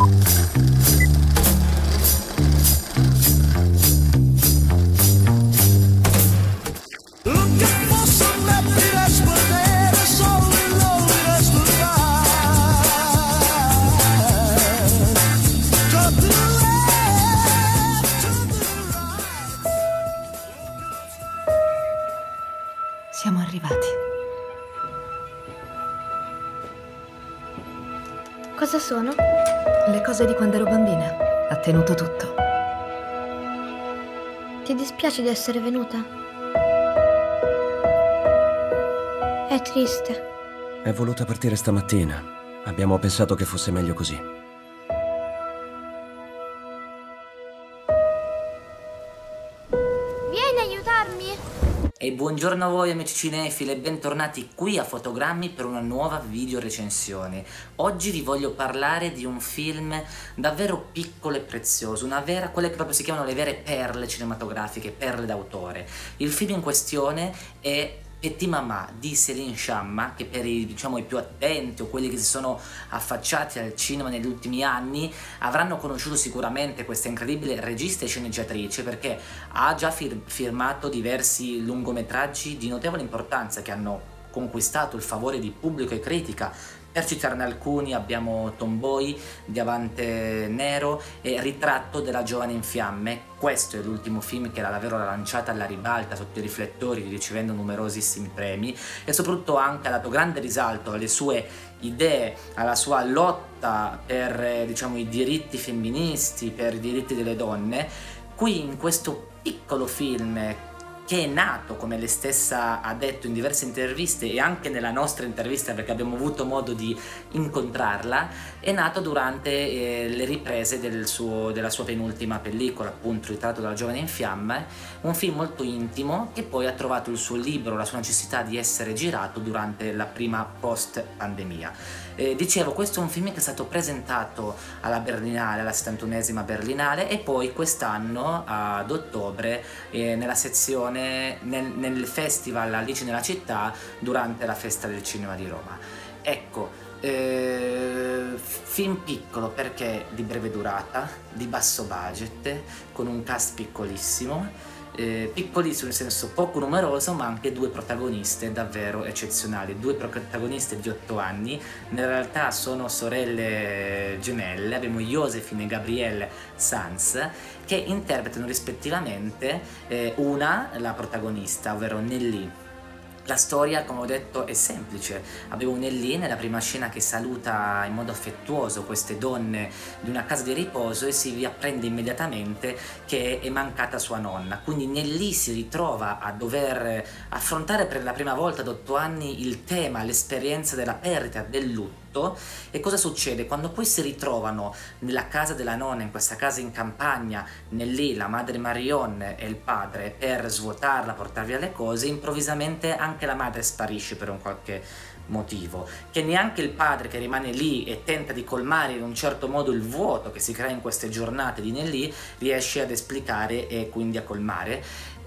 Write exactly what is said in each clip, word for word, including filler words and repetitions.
Siamo arrivati. Cosa sono? Le cose di quando ero bambina. Ha tenuto tutto. Ti dispiace di essere venuta? È triste. È voluta partire stamattina. Abbiamo pensato che fosse meglio così. E buongiorno a voi amici cinefili e bentornati qui a Fotogrammi per una nuova video recensione. Oggi vi voglio parlare di un film davvero piccolo e prezioso, una vera, quelle che proprio si chiamano le vere perle cinematografiche, perle d'autore. Il film in questione è Petit Maman di Céline Sciamma, che per i, diciamo, i più attenti o quelli che si sono affacciati al cinema negli ultimi anni avranno conosciuto sicuramente questa incredibile regista e sceneggiatrice, perché ha già fir firmato diversi lungometraggi di notevole importanza che hanno conquistato il favore di pubblico e critica. Per citarne alcuni abbiamo Tomboy, Diamante Nero e Ritratto della giovane in fiamme. Questo è l'ultimo film che l'ha davvero lanciata alla ribalta sotto i riflettori, ricevendo numerosissimi premi, e soprattutto anche ha dato grande risalto alle sue idee, alla sua lotta per eh, diciamo, i diritti femministi, per i diritti delle donne. Qui in questo piccolo film, che è nato, come lei stessa ha detto in diverse interviste e anche nella nostra intervista, perché abbiamo avuto modo di incontrarla, è nato durante eh, le riprese del suo, della sua penultima pellicola, appunto Ritratto della giovane in fiamme, un film molto intimo che poi ha trovato il suo libro, la sua necessità di essere girato durante la prima post-pandemia. Eh, dicevo, questo è un film che è stato presentato alla Berlinale, alla settantunesima Berlinale, e poi quest'anno ad ottobre eh, nella sezione Nel, nel festival Alice nella città durante la festa del cinema di Roma. Ecco, eh, film piccolo perché di breve durata, di basso budget, con un cast piccolissimo, eh, piccolissimo nel senso poco numeroso, ma anche due protagoniste davvero eccezionali, due protagoniste di otto anni, in realtà sono sorelle gemelle, abbiamo Josephine e Gabrielle Sanz, che interpretano rispettivamente eh, una, la protagonista, ovvero Nelly. La storia, come ho detto, è semplice. Abbiamo Nelly nella prima scena che saluta in modo affettuoso queste donne di una casa di riposo e si apprende immediatamente che è mancata sua nonna. Quindi Nelly si ritrova a dover affrontare per la prima volta ad otto anni il tema, l'esperienza della perdita, del lutto. E cosa succede? Quando poi si ritrovano nella casa della nonna, in questa casa in campagna, Nelly, la madre Marion e il padre, per svuotarla, portar via le cose, improvvisamente anche la madre sparisce per un qualche motivo, che neanche il padre, che rimane lì e tenta di colmare in un certo modo il vuoto che si crea in queste giornate di Nelly, riesce ad esplicare e quindi a colmare.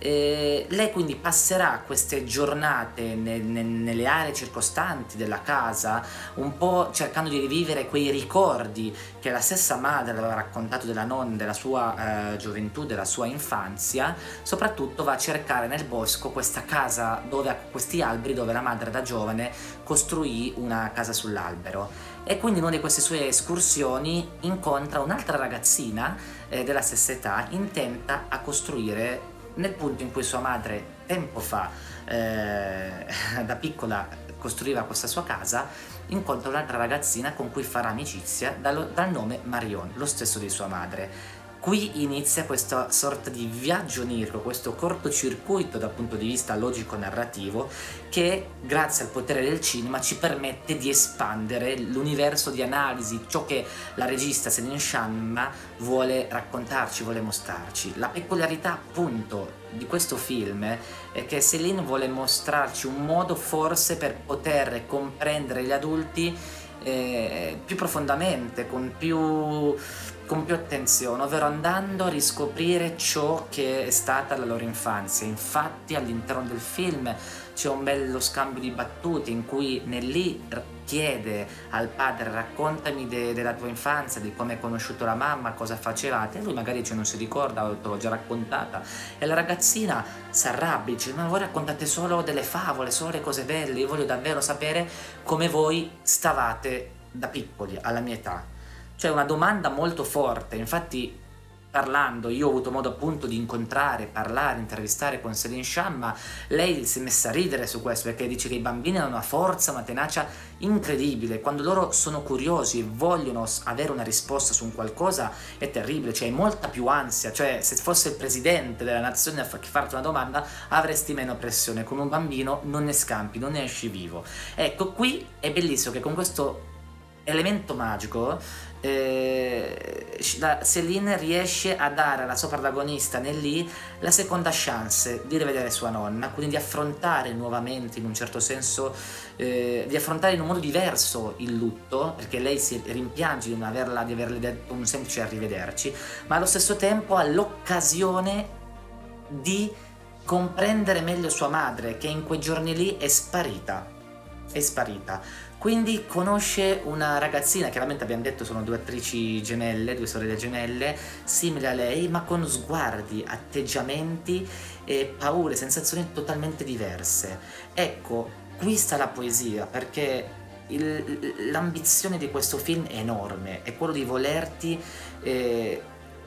E lei quindi passerà queste giornate ne, ne, nelle aree circostanti della casa, un po' cercando di rivivere quei ricordi che la stessa madre aveva raccontato della nonna, della sua eh, gioventù, della sua infanzia. Soprattutto va a cercare nel bosco questa casa, dove, questi alberi dove la madre da giovane costruì una casa sull'albero. E quindi in una di queste sue escursioni incontra un'altra ragazzina eh, della stessa età, intenta a costruire nel punto in cui sua madre tempo fa, eh, da piccola, costruiva questa sua casa. Incontra un'altra ragazzina con cui farà amicizia dal, dal nome Marion, lo stesso di sua madre. Qui inizia questa sorta di viaggio onirico, questo cortocircuito dal punto di vista logico-narrativo, che grazie al potere del cinema ci permette di espandere l'universo di analisi, ciò che la regista Céline Sciamma vuole raccontarci, vuole mostrarci. La peculiarità appunto di questo film è che Céline vuole mostrarci un modo forse per poter comprendere gli adulti eh, più profondamente, con più... con più attenzione, ovvero andando a riscoprire ciò che è stata la loro infanzia. Infatti all'interno del film c'è un bello scambio di battute in cui Nelly chiede al padre raccontami de della tua infanzia, di come hai conosciuto la mamma, cosa facevate, e lui magari cioè, non si ricorda, te l'ho già raccontata, e la ragazzina si arrabbia, dice ma voi raccontate solo delle favole, solo le cose belle, io voglio davvero sapere come voi stavate da piccoli, alla mia età. Cioè una domanda molto forte, infatti parlando, io ho avuto modo appunto di incontrare, parlare, intervistare con Céline Sciamma, lei si è messa a ridere su questo perché dice che i bambini hanno una forza, una tenacia incredibile, quando loro sono curiosi e vogliono avere una risposta su un qualcosa è terribile, cioè hai molta più ansia, cioè se fosse il presidente della nazione a farti una domanda avresti meno pressione, con un bambino non ne scampi, non ne esci vivo. Ecco, qui è bellissimo che con questo elemento magico eh, la Céline riesce a dare alla sua protagonista Nelly la seconda chance di rivedere sua nonna, quindi di affrontare nuovamente in un certo senso eh, di affrontare in un modo diverso il lutto, perché lei si rimpiange di non averla, di averle detto un semplice arrivederci, ma allo stesso tempo ha l'occasione di comprendere meglio sua madre, che in quei giorni lì è sparita è sparita. Quindi conosce una ragazzina, chiaramente abbiamo detto sono due attrici gemelle, due sorelle gemelle, simili a lei, ma con sguardi, atteggiamenti e paure, sensazioni totalmente diverse. Ecco, qui sta la poesia, perché l'ambizione di questo film è enorme, è quello di volerti eh,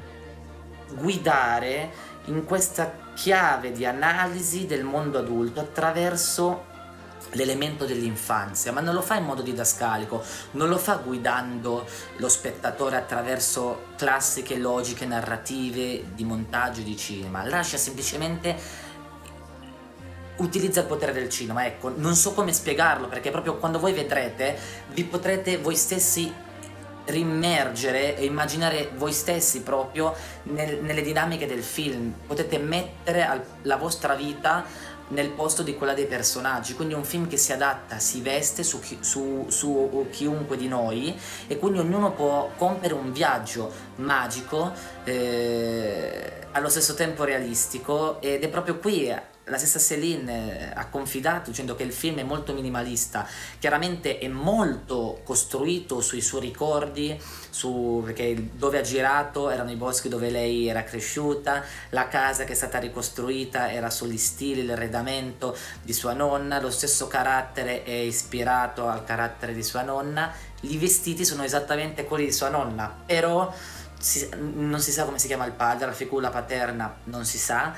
guidare in questa chiave di analisi del mondo adulto attraverso l'elemento dell'infanzia, ma non lo fa in modo didascalico, non lo fa guidando lo spettatore attraverso classiche logiche narrative di montaggio di cinema, lascia semplicemente, utilizza il potere del cinema, ecco, non so come spiegarlo, perché proprio quando voi vedrete vi potrete voi stessi rimmergere e immaginare voi stessi proprio nel, nelle dinamiche del film, potete mettere al, la vostra vita nel posto di quella dei personaggi, quindi è un film che si adatta, si veste su, chi, su, su chiunque di noi e quindi ognuno può compiere un viaggio magico eh, allo stesso tempo realistico, ed è proprio qui la stessa Céline ha confidato dicendo che il film è molto minimalista, chiaramente è molto costruito sui suoi ricordi, su, perché dove ha girato erano i boschi dove lei era cresciuta, la casa che è stata ricostruita era sugli stili, l'arredamento di sua nonna, lo stesso carattere è ispirato al carattere di sua nonna, i vestiti sono esattamente quelli di sua nonna, però si, non si sa come si chiama il padre, la figura paterna non si sa,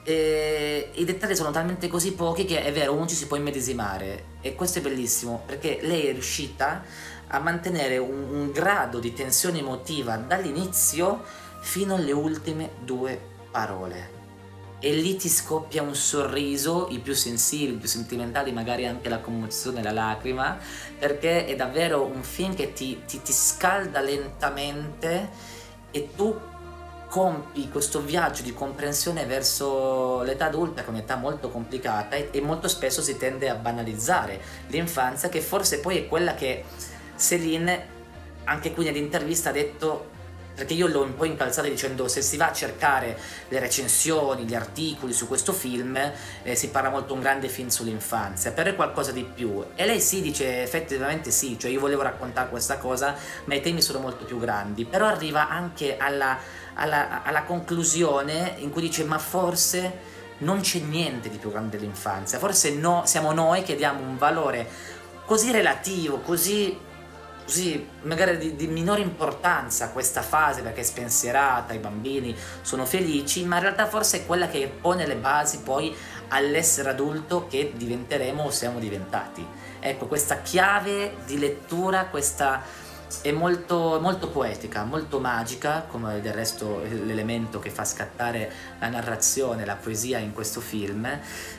e i dettagli sono talmente così pochi che è vero, uno ci si può immedesimare, e questo è bellissimo perché lei è riuscita a mantenere un, un grado di tensione emotiva dall'inizio fino alle ultime due parole, e lì ti scoppia un sorriso, i più sensibili, i più sentimentali, magari anche la commozione, la lacrima, perché è davvero un film che ti, ti, ti scalda lentamente e tu compi questo viaggio di comprensione verso l'età adulta, che è un'età molto complicata, e, e molto spesso si tende a banalizzare l'infanzia, che forse poi è quella che Céline anche qui nell'intervista ha detto, perché io l'ho un po' incalzata dicendo se si va a cercare le recensioni, gli articoli su questo film eh, si parla molto un grande film sull'infanzia, però è qualcosa di più, e lei sì dice effettivamente sì, cioè io volevo raccontare questa cosa ma i temi sono molto più grandi, però arriva anche alla, alla, alla conclusione in cui dice ma forse non c'è niente di più grande dell'infanzia, forse no, siamo noi che diamo un valore così relativo, così così magari di, di minore importanza a questa fase perché è spensierata, i bambini sono felici, ma in realtà forse è quella che pone le basi poi all'essere adulto che diventeremo o siamo diventati. Ecco, questa chiave di lettura, questa è molto, molto poetica, molto magica, come del resto l'elemento che fa scattare la narrazione, la poesia in questo film,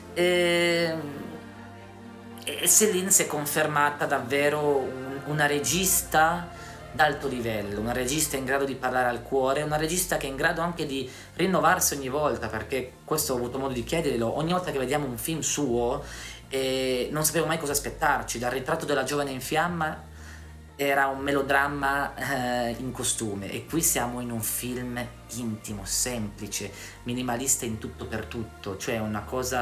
e, e Céline si è confermata davvero un una regista d'alto livello, una regista in grado di parlare al cuore, una regista che è in grado anche di rinnovarsi ogni volta, perché questo ho avuto modo di chiederglielo, ogni volta che vediamo un film suo eh, non sapevo mai cosa aspettarci, dal Ritratto della giovane in fiamma era un melodramma eh, in costume, e qui siamo in un film intimo, semplice, minimalista in tutto per tutto, cioè una cosa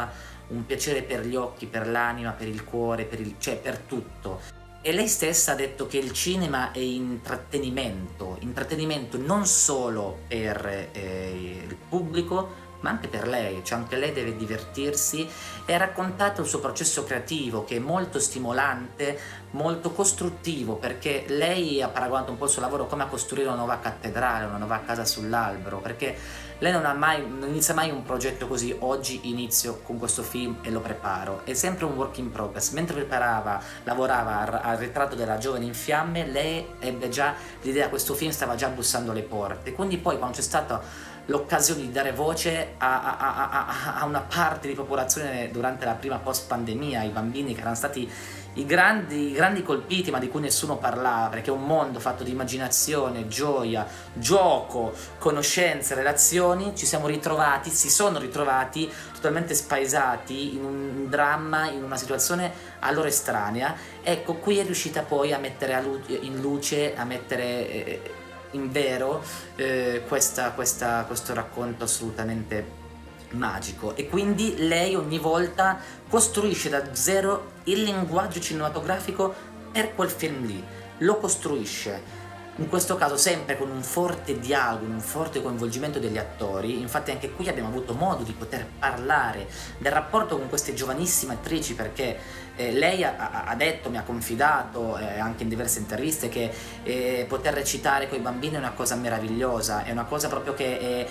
un piacere per gli occhi, per l'anima, per il cuore, per il, cioè per tutto. E lei stessa ha detto che il cinema è intrattenimento, intrattenimento non solo per eh, il pubblico, ma anche per lei, cioè anche lei deve divertirsi, e ha raccontato il suo processo creativo che è molto stimolante, molto costruttivo, perché lei ha paragonato un po' il suo lavoro come a costruire una nuova cattedrale, una nuova casa sull'albero, perché lei non ha mai, non inizia mai un progetto così, oggi inizio con questo film e lo preparo, è sempre un work in progress. Mentre preparava, lavorava al, al ritratto della giovane in fiamme, lei ebbe già l'idea, questo film stava già bussando alle porte, quindi poi quando c'è stata l'occasione di dare voce a, a, a, a, a una parte di popolazione durante la prima post pandemia, i bambini che erano stati i grandi, i grandi colpiti, ma di cui nessuno parlava, perché è un mondo fatto di immaginazione, gioia, gioco, conoscenze, relazioni, ci siamo ritrovati, si sono ritrovati totalmente spaesati in un dramma, in una situazione a loro estranea. Ecco, qui è riuscita poi a mettere a lu- in luce, a mettere eh, in vero eh, questa, questa, questo racconto assolutamente magico, e quindi lei ogni volta costruisce da zero il linguaggio cinematografico per quel film lì, lo costruisce. In questo caso sempre con un forte dialogo, un forte coinvolgimento degli attori. Infatti anche qui abbiamo avuto modo di poter parlare del rapporto con queste giovanissime attrici, perché eh, lei ha, ha detto, mi ha confidato eh, anche in diverse interviste, che eh, poter recitare con i bambini è una cosa meravigliosa, è una cosa proprio che è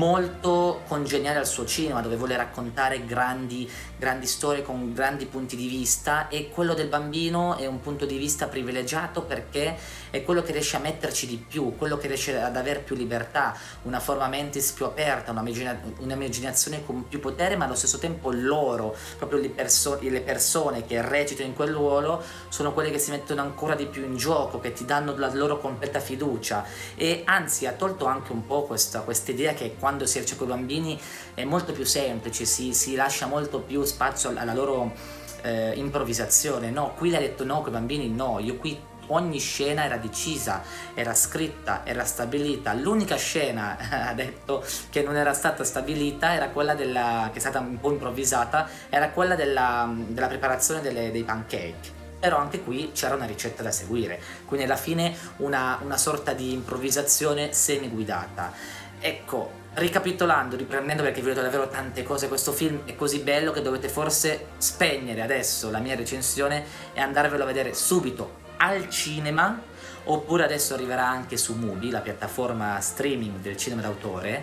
molto congeniale al suo cinema, dove vuole raccontare grandi, grandi storie con grandi punti di vista, e quello del bambino è un punto di vista privilegiato perché è quello che riesce a metterci di più, quello che riesce ad avere più libertà, una forma mentis più aperta, un'immaginazione con più potere, ma allo stesso tempo loro, proprio le, perso- le persone che recitano in quel ruolo, sono quelle che si mettono ancora di più in gioco, che ti danno la loro completa fiducia. E anzi ha tolto anche un po' questa idea che quando si recita con i bambini è molto più semplice, si, si lascia molto più spazio alla loro eh, improvvisazione. No, qui lei ha detto no, con i bambini no, io qui ogni scena era decisa, era scritta, era stabilita. L'unica scena, ha detto, che non era stata stabilita era quella della, che è stata un po' improvvisata, era quella della, della preparazione delle, dei pancake. Però anche qui c'era una ricetta da seguire, quindi alla fine una, una sorta di improvvisazione semi-guidata. Ecco, ricapitolando, riprendendo, perché vi ho detto davvero tante cose, questo film è così bello che dovete forse spegnere adesso la mia recensione e andarvelo a vedere subito al cinema, oppure adesso arriverà anche su Mubi, la piattaforma streaming del cinema d'autore.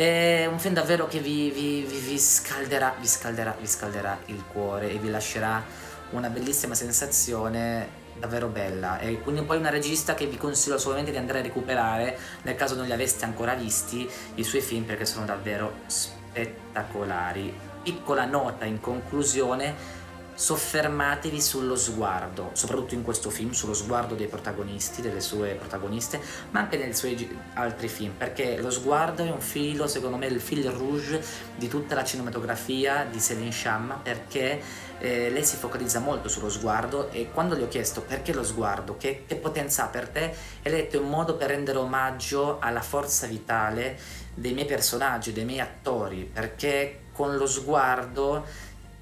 È un film davvero che vi, vi, vi, vi scalderà, vi scalderà, vi scalderà il cuore e vi lascerà una bellissima sensazione davvero bella. E quindi poi una regista che vi consiglio assolutamente di andare a recuperare nel caso non li aveste ancora visti i suoi film, perché sono davvero spettacolari. Piccola nota in conclusione: soffermatevi sullo sguardo, soprattutto in questo film, sullo sguardo dei protagonisti, delle sue protagoniste, ma anche nei suoi altri film, perché lo sguardo è un filo, secondo me, il fil rouge di tutta la cinematografia di Céline Sciamma, perché eh, lei si focalizza molto sullo sguardo. E quando le ho chiesto perché lo sguardo, che, che potenza ha per te, e lei ha detto: è un modo per rendere omaggio alla forza vitale dei miei personaggi, dei miei attori, perché con lo sguardo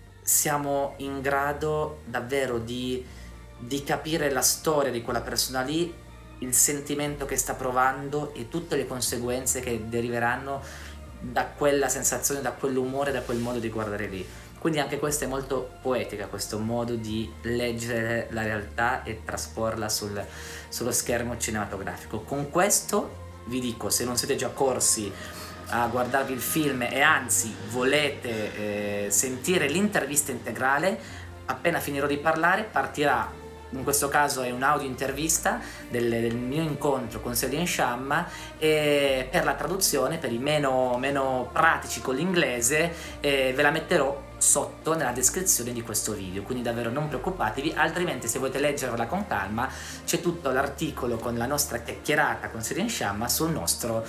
siamo in grado davvero di, di capire la storia di quella persona lì, il sentimento che sta provando e tutte le conseguenze che deriveranno da quella sensazione, da quell'umore, da quel modo di guardare lì. Quindi anche questa è molto poetica, questo modo di leggere la realtà e trasporla sul, sullo schermo cinematografico. Con questo vi dico, se non siete già corsi a guardarvi il film e anzi volete eh, sentire l'intervista integrale, appena finirò di parlare partirà, in questo caso è un'audio intervista del, del mio incontro con Céline Sciamma, e per la traduzione, per i meno, meno pratici con l'inglese, eh, ve la metterò sotto nella descrizione di questo video, quindi davvero non preoccupatevi. Altrimenti, se volete leggerla con calma, c'è tutto l'articolo con la nostra chiacchierata con Céline Sciamma sul nostro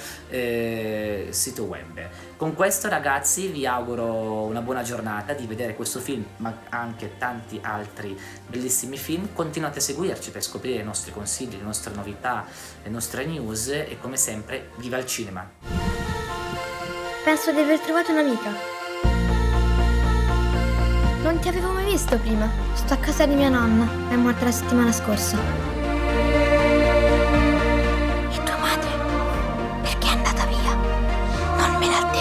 eh, sito web. Con questo, ragazzi, vi auguro una buona giornata, di vedere questo film ma anche tanti altri bellissimi film. Continuate a seguirci per scoprire i nostri consigli, le nostre novità, le nostre news, e come sempre viva il cinema. Penso di aver trovato un'amica. Non ti avevo mai visto prima. Sto a casa di mia nonna. È morta la settimana scorsa. E tua madre? Perché è andata via? Non me l'ha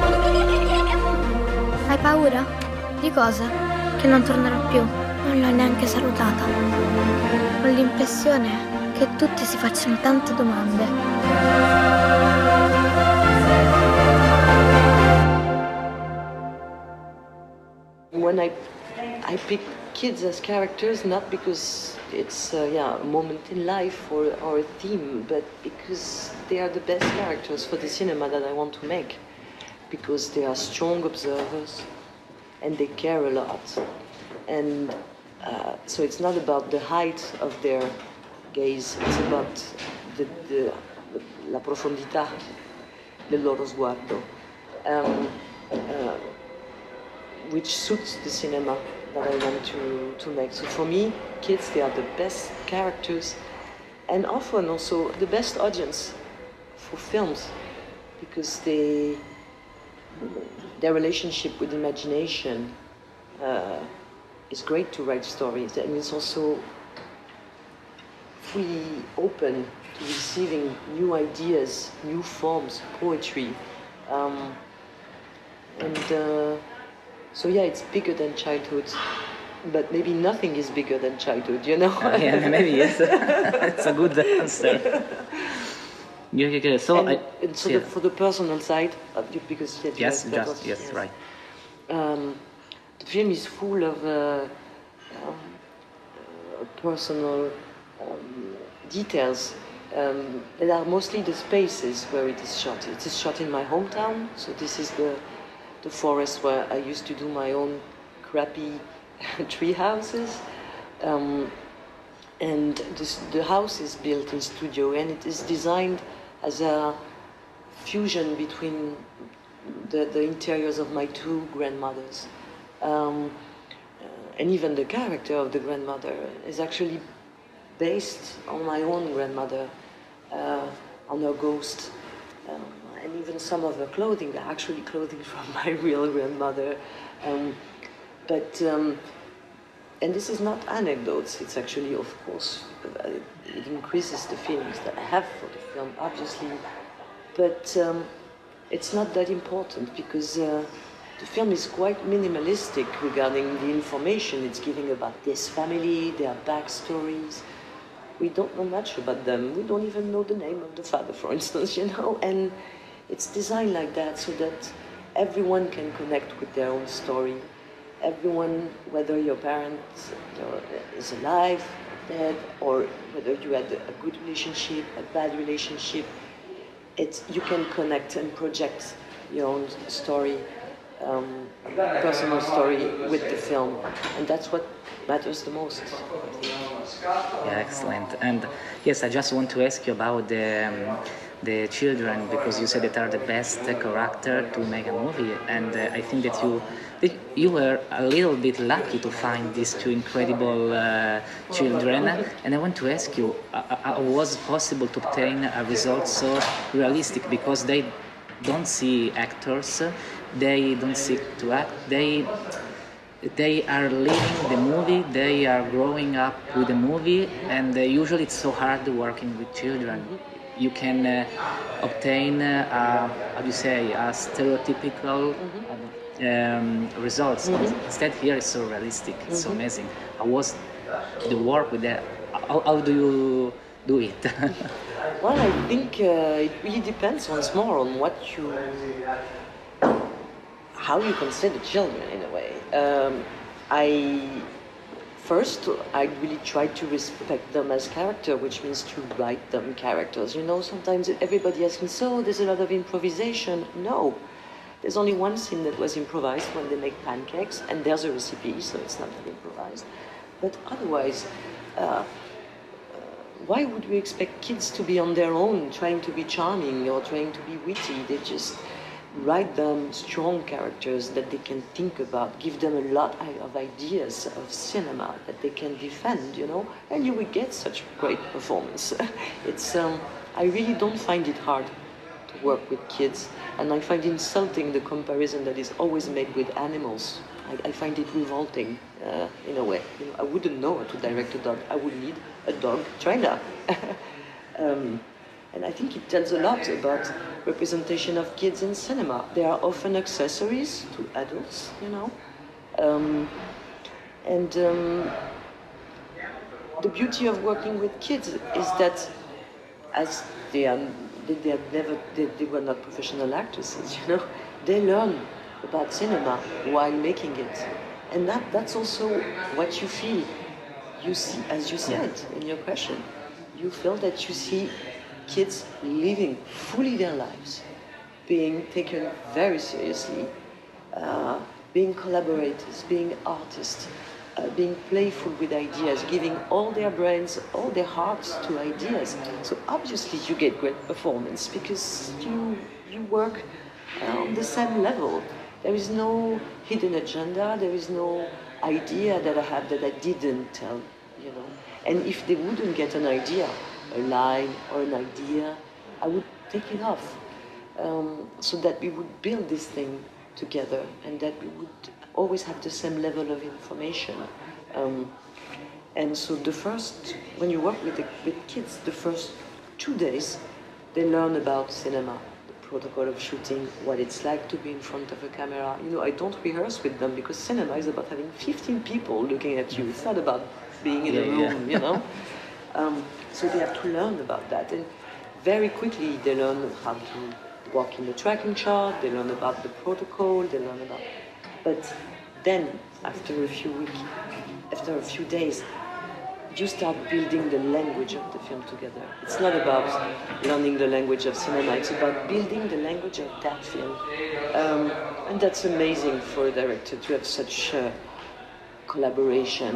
detto. Hai paura? Di cosa? Che non tornerò più. Non l'ho neanche salutata. Ho l'impressione che tutti si facciano tante domande. When I, I pick kids as characters, not because it's uh, yeah, a moment in life or, or a theme, but because they are the best characters for the cinema that I want to make. Because they are strong observers and they care a lot. And uh, so it's not about the height of their gaze, it's about the, the, la profondità del loro sguardo. Um, uh, which suits the cinema that I want to, to make. So for me, kids, they are the best characters and often also the best audience for films because they, their relationship with imagination uh, is great to write stories, and it's also fully open to receiving new ideas, new forms, poetry. Um, and uh, So yeah, it's bigger than childhood, but maybe nothing is bigger than childhood, you know? Uh, yeah, maybe yes. It's a good answer. Yeah, yeah, yeah. So, and, I, and so yeah. the, for the personal side, uh, because yes, yes, yes, just, yes, yes, right. Um, the film is full of uh, um, uh, personal um, details. Um, that are mostly the spaces where it is shot. It is shot in my hometown, so this is the the forest where I used to do my own crappy tree houses. Um, and this, the house is built in studio and it is designed as a fusion between the, the interiors of my two grandmothers. Um, uh, and even the character of the grandmother is actually based on my own grandmother, uh, on her ghost. Um, and even some of her clothing are actually clothing from my real grandmother. Um, but, um, and this is not anecdotes, it's actually, of course, uh, it increases the feelings that I have for the film, obviously, but um, it's not that important because uh, the film is quite minimalistic regarding the information it's giving about this family, their backstories. We don't know much about them. We don't even know the name of the father, for instance, you know, and it's designed like that so that everyone can connect with their own story. Everyone, whether your parent is alive, dead, or whether you had a good relationship, a bad relationship, it's, you can connect and project your own story, um, personal story with the film, and that's what matters the most. Yeah, excellent. And yes, I just want to ask you about the um, the children, because you said that are the best character to make a movie, and uh, I think that you that you were a little bit lucky to find these two incredible uh, children. And I want to ask you, uh, uh, was it possible to obtain a result so realistic? Because they don't see actors, they don't seek to act, they they are living the movie, they are growing up with the movie, and uh, usually it's so hard working with children. You can uh, obtain, uh, uh, how do you say, a stereotypical um, results. Mm-hmm. Instead, here it's so realistic, it's mm-hmm. so amazing. How was the work with that? How, how do you do it? Well, I think uh, it really depends once more on what you, how you consider children in a way. Um, I first I really try to respect them as character, which means to write them characters. You know, sometimes everybody asks me, so there's a lot of improvisation. No, there's only one scene that was improvised when they make pancakes, and there's a recipe, so it's not that improvised. But otherwise, uh, why would we expect kids to be on their own, trying to be charming or trying to be witty? They just write them strong characters that they can think about, give them a lot of ideas of cinema that they can defend, you know, and you will get such great performance. It's, um, I really don't find it hard to work with kids, and I find insulting the comparison that is always made with animals. I, I find it revolting uh, in a way. You know, I wouldn't know how to direct a dog. I would need a dog trainer. um, and I think it tells a lot about representation of kids in cinema. They are often accessories to adults, you know. Um, and um, the beauty of working with kids is that as they are, they, they, are never, they, they were not professional actresses, you know, they learn about cinema while making it. And that, that's also what you feel. You see, as you said in your question, you feel that you see kids living fully their lives, being taken very seriously, uh, being collaborators, being artists, uh, being playful with ideas, giving all their brains, all their hearts to ideas. So obviously you get great performance because you, you work uh, on the same level. There is no hidden agenda, there is no idea that I have that I didn't tell, you know. And if they wouldn't get an idea, a line or an idea, I would take it off. Um, so that we would build this thing together and that we would always have the same level of information. Um, and so the first, when you work with, the, with kids, the first two days, they learn about cinema, the protocol of shooting, what it's like to be in front of a camera. You know, I don't rehearse with them because cinema is about having fifteen people looking at you. It's not about being in yeah, a room, yeah. you know? Um, so they have to learn about that. And very quickly they learn how to walk in the tracking chart, they learn about the protocol, they learn about... But then, after a few weeks, after a few days, you start building the language of the film together. It's not about learning the language of cinema, it's about building the language of that film. Um, and that's amazing for a director to have such uh, collaboration.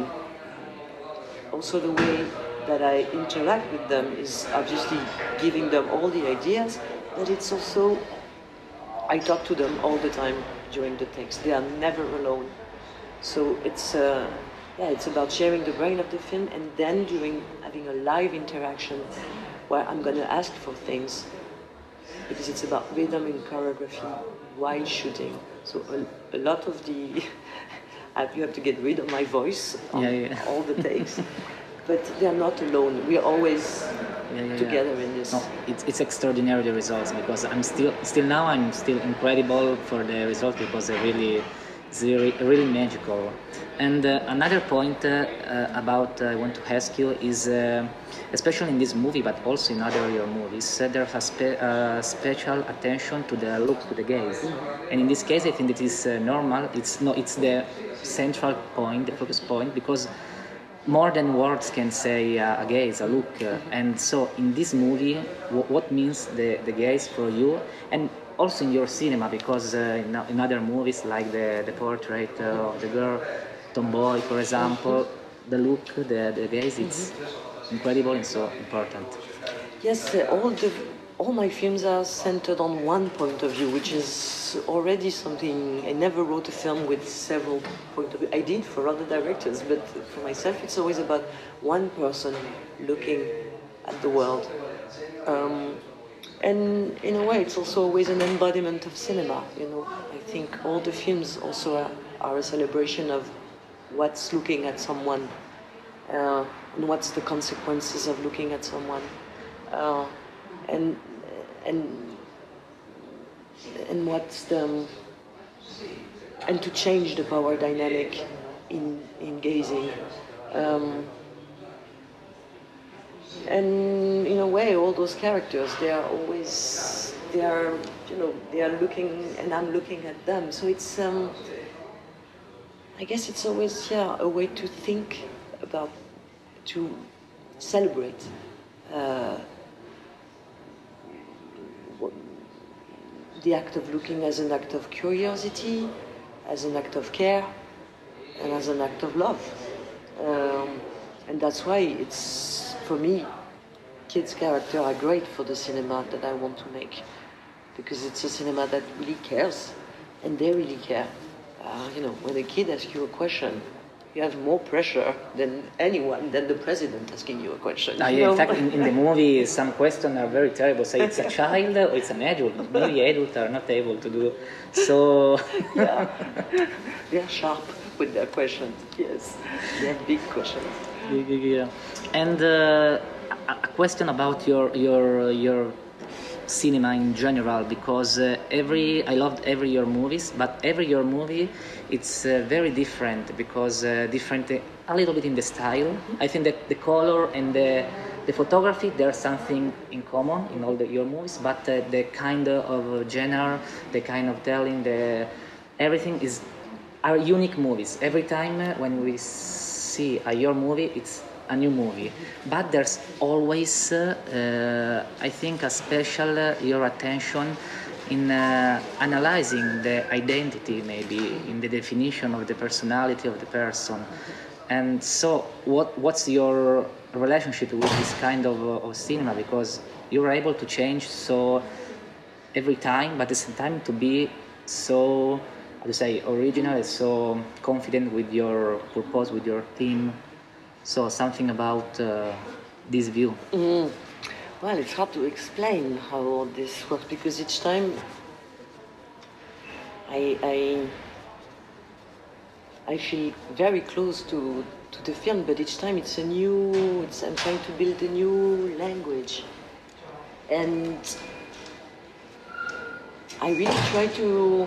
Also the way that I interact with them is obviously giving them all the ideas, but it's also, I talk to them all the time during the takes. They are never alone. So it's, uh, yeah, it's about sharing the brain of the film and then doing, having a live interaction where I'm gonna ask for things because it's about rhythm and choreography while shooting. So a, a lot of the, you have to get rid of my voice on yeah, yeah. all the takes. But they are not alone. We are always yeah, yeah, together yeah. in this. No, it's, it's extraordinary, the results, because I'm still, still now I'm still incredible for the results because they're really, they're really magical. And uh, another point uh, uh, about uh, I want to ask you is, uh, especially in this movie, but also in other your movies, uh, there has spe uh, special attention to the look, to the gaze. Mm-hmm. And in this case, I think it is uh, normal. It's no, it's the central point, the focus point, because more than words can say uh, a gaze, a look. Uh, and so in this movie, w what means the, the gaze for you? And also in your cinema, because uh, in, in other movies like the, the portrait uh, of the girl, Tomboy, for example, the look, the, the gaze, it's incredible and so important. Yes, uh, all the all my films are centered on one point of view, which is already something. I never wrote a film with several point of view. I did for other directors, but for myself, it's always about one person looking at the world. Um, and in a way, it's also always an embodiment of cinema. You know, I think all the films also are, are a celebration of what's looking at someone, uh, and what's the consequences of looking at someone. Uh, and and and what's the and to change the power dynamic in in gazing, um, and in a way all those characters, they are always they are you know they are looking and I'm looking at them, so it's um, I guess it's always yeah a way to think about, to celebrate uh, the act of looking as an act of curiosity, as an act of care, and as an act of love. Um, and that's why it's, for me, kids' characters are great for the cinema that I want to make. Because it's a cinema that really cares, and they really care. Uh, you know, when a kid asks you a question, you have more pressure than anyone, than the president asking you a question. Ah, you yeah, know? in fact, in, in the movie, some questions are very terrible. Say it's a child or it's an adult. Maybe adults are not able to do so. Yeah, they're sharp with their questions. Yes, they have big questions. Yeah. And uh, a a question about your your your cinema in general, because uh, every I loved every your movies, but every your movie it's uh, very different, because uh, different uh, a little bit in the style. I think that the color and the the photography, there's something in common in all the, your movies, but uh, the kind of genre, the kind of telling, the everything is are unique movies. Every time uh, when we see a your movie, it's a new movie, but there's always, uh, uh, I think, a special uh, your attention in uh, analyzing the identity, maybe in the definition of the personality of the person. And so, what what's your relationship with this kind of, uh, of cinema? Because you're able to change so every time, but at the same time to be so, how to say, original and so confident with your purpose, with your theme. So something about uh, this view. Mm. Well, it's hard to explain how all this works, because each time I, I, I feel very close to, to the film, but each time it's a new, it's, I'm trying to build a new language. And I really try to,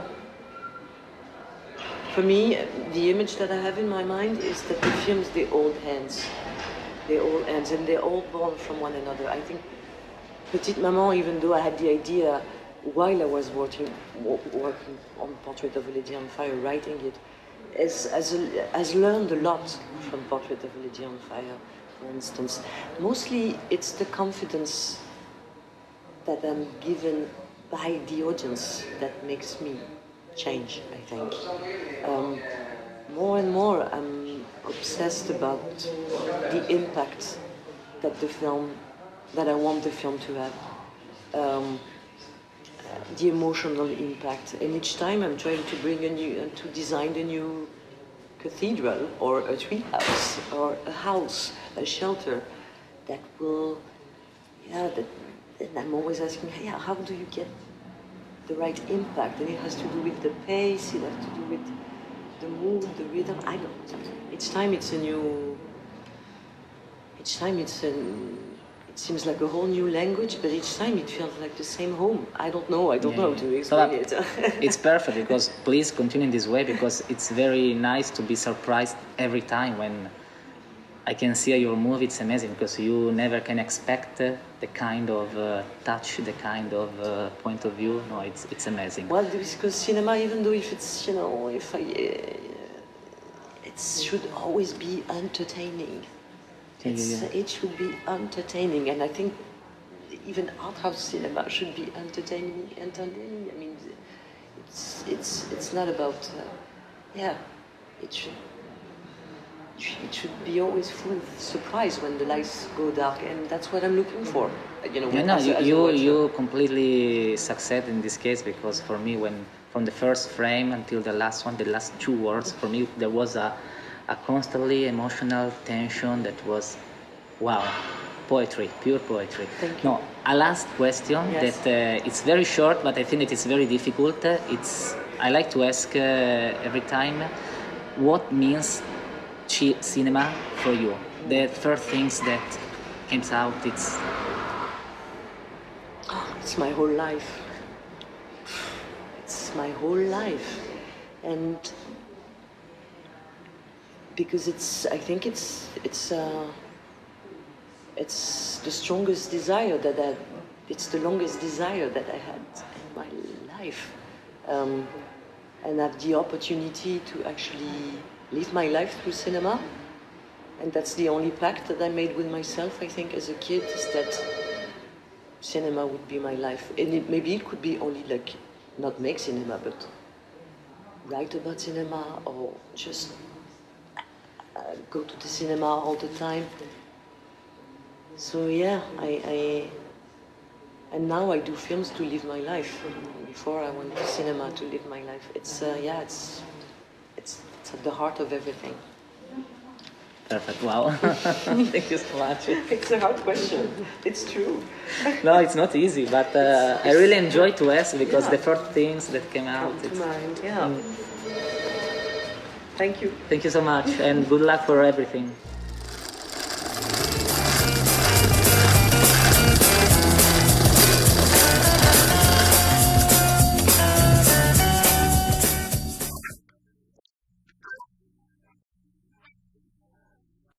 for me, the image that I have in my mind is that the films, they hold hands. They all hands, and they're all born from one another. I think Petite Maman, even though I had the idea while I was working, working on Portrait of a Lady on Fire, writing it, has, has, has learned a lot from Portrait of a Lady on Fire, for instance. Mostly it's the confidence that I'm given by the audience that makes me change, I think. Um, more and more I'm obsessed about the impact that the film, that I want the film to have. Um, the emotional impact. And each time I'm trying to bring a new, uh, to design a new cathedral or a treehouse or a house, a shelter that will, yeah, that, and I'm always asking, yeah, how do you get the right impact? And it has to do with the pace, it has to do with the mood, the rhythm. I don't. Each time it's a new. Each time it's an. It seems like a whole new language, but each time it feels like the same home. I don't know. I don't Yeah, know yeah. how to explain So it. it's perfect, because please continue in this way, because it's very nice to be surprised every time when I can see your movie. It's amazing, because you never can expect uh, the kind of uh, touch, the kind of uh, point of view. No, it's it's amazing. Well, because cinema, even though if it's, you know, if I, uh, it should always be entertaining. Yeah, It's, yeah, yeah. It should be entertaining, and I think even art house cinema should be entertaining. Entertaining. I mean, it's it's it's not about, uh, yeah, it should. It should be always full of surprise when the lights go dark, and that's what I'm looking for. You know, Yeah, no, as a- you as a you, watcher. you completely succeed in this case, because for me, when from the first frame until the last one, the last two words, for me there was a a constantly emotional tension that was, wow, poetry, pure poetry. Thank you. No, a last question Yes. that uh, it's very short, but I think it is very difficult. Uh, It's I like to ask uh, every time, what means chi- cinema for you? The first things that comes out, it's It's my whole life. It's my whole life, and because it's, I think it's it's uh, it's the strongest desire that I, it's the longest desire that I had in my life, um, and I have the opportunity to actually live my life through cinema, and that's the only pact that I made with myself. I think as a kid is that cinema would be my life, and it, maybe it could be only like not make cinema, but write about cinema or just uh, go to the cinema all the time. So yeah, I, I and now I do films to live my life. Before I went to cinema to live my life. It's uh, yeah, it's it's it's at the heart of everything. Perfect. Wow. Thank you so much. It's a hard question. It's true. No, it's not easy, but uh, I really enjoy to ask because Yeah. the first things that came out. Come to It's, mind, yeah. Mm. Thank you. Thank you so much, and good luck for everything.